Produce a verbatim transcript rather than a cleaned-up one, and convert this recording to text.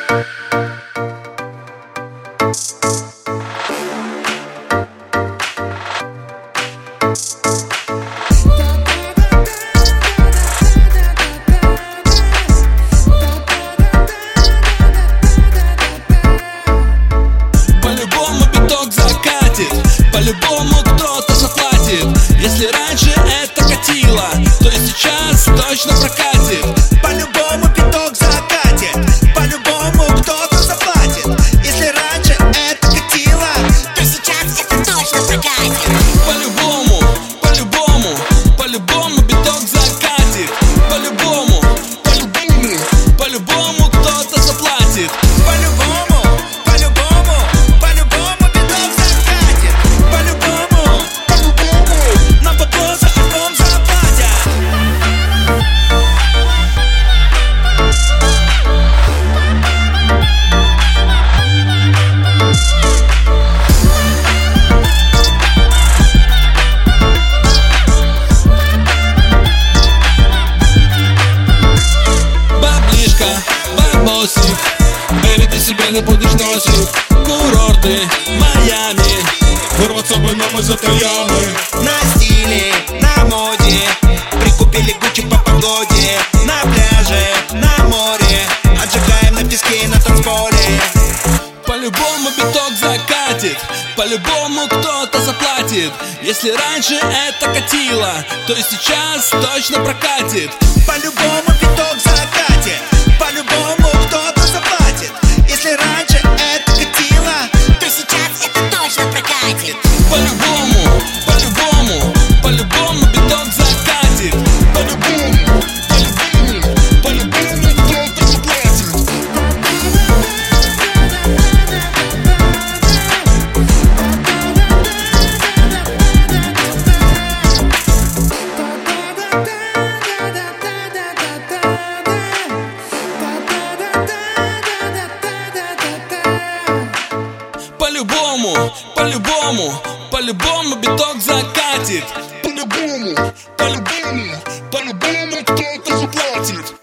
По-любому биток закатит, по-любому кто-то заплатит. Если раньше это катило, то и сейчас точно прокатит. По-любому биток закатит, по-любому кто-то заплатит. Если раньше это катило, то сейчас это точно прокатит. По-любому, по-любому, по-любому биток закатит. По-любому, по-любому, по-любому кто-то заплатит. по-любому, по-любому, по-любому биток закатит. По-любому, по-любому, нам бабло за альбом заплатят. Баблишка, бабосик, бэби, ты себе не будешь носить. Курорты, Майами, вырвать с собой нам из этой ямы. На стиле, на моде, прикупили Гуччи по погоде. На пляже, на море, отжигаем на песке и на танцполе. По-любому биток закатит, по-любому кто-то заплатит. Если раньше это катило, то и сейчас точно прокатит. По-любому биток закатит, по-любому кто-то заплатит. Если раньше это катило, То сейчас это точно прокатит. По-любому, по-любому, по-любому биток закатит. По-любому, по-любому, по-любому кто-то заплатит. По-любому, по-любому, по-любому биток закатит. По-любому, по-любому, по-любому кто-то заплатит.